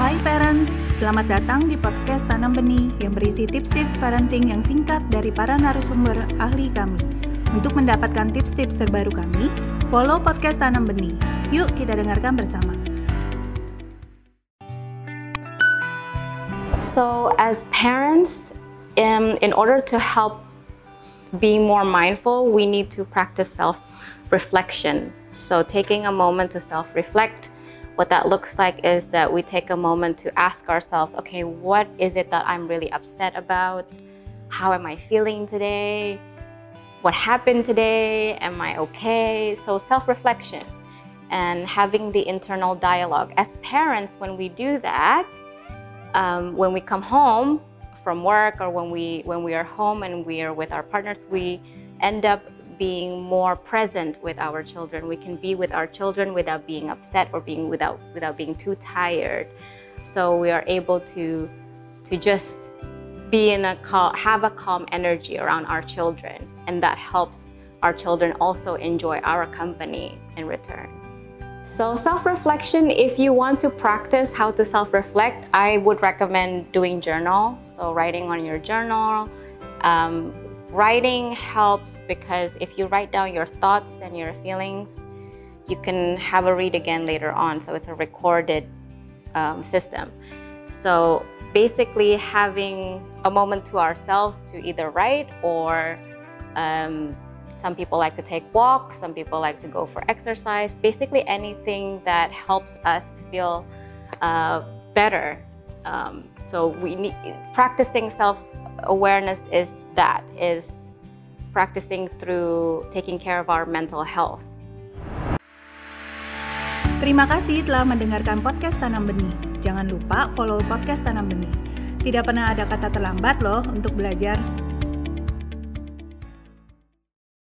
Hai parents, selamat datang di podcast Tanam Benih yang berisi tips-tips parenting yang singkat dari para narasumber ahli kami. Untuk mendapatkan tips-tips terbaru kami, follow podcast Tanam Benih. Yuk kita dengarkan bersama. So as parents, in order to help being more mindful, we need to practice self-reflection. So taking a moment to self-reflect, what that looks like is that we take a moment to ask ourselves, okay, what is it that I'm really upset about? How am I feeling today? What happened today? Am I okay? So self-reflection and having the internal dialogue. As parents, when we do that, when we come home from work or when we are home and we are with our partners, we end up being more present with our children. We can be with our children without being upset or without being too tired. So we are able to just be have a calm energy around our children, and that helps our children also enjoy our company in return. So self-reflection, if you want to practice how to self-reflect, I would recommend doing journal. So writing on your journal. Writing helps because if you write down your thoughts and your feelings, you can have a read again later on. So it's a recorded system. So basically having a moment to ourselves to either write or some people like to take walks, some people like to go for exercise, basically anything that helps us feel better. So we need practicing self-awareness is practicing through taking care of our mental health. Terima kasih telah mendengarkan podcast Tanam Benih. Jangan lupa follow podcast Tanam Benih. Tidak pernah ada kata terlambat loh untuk belajar.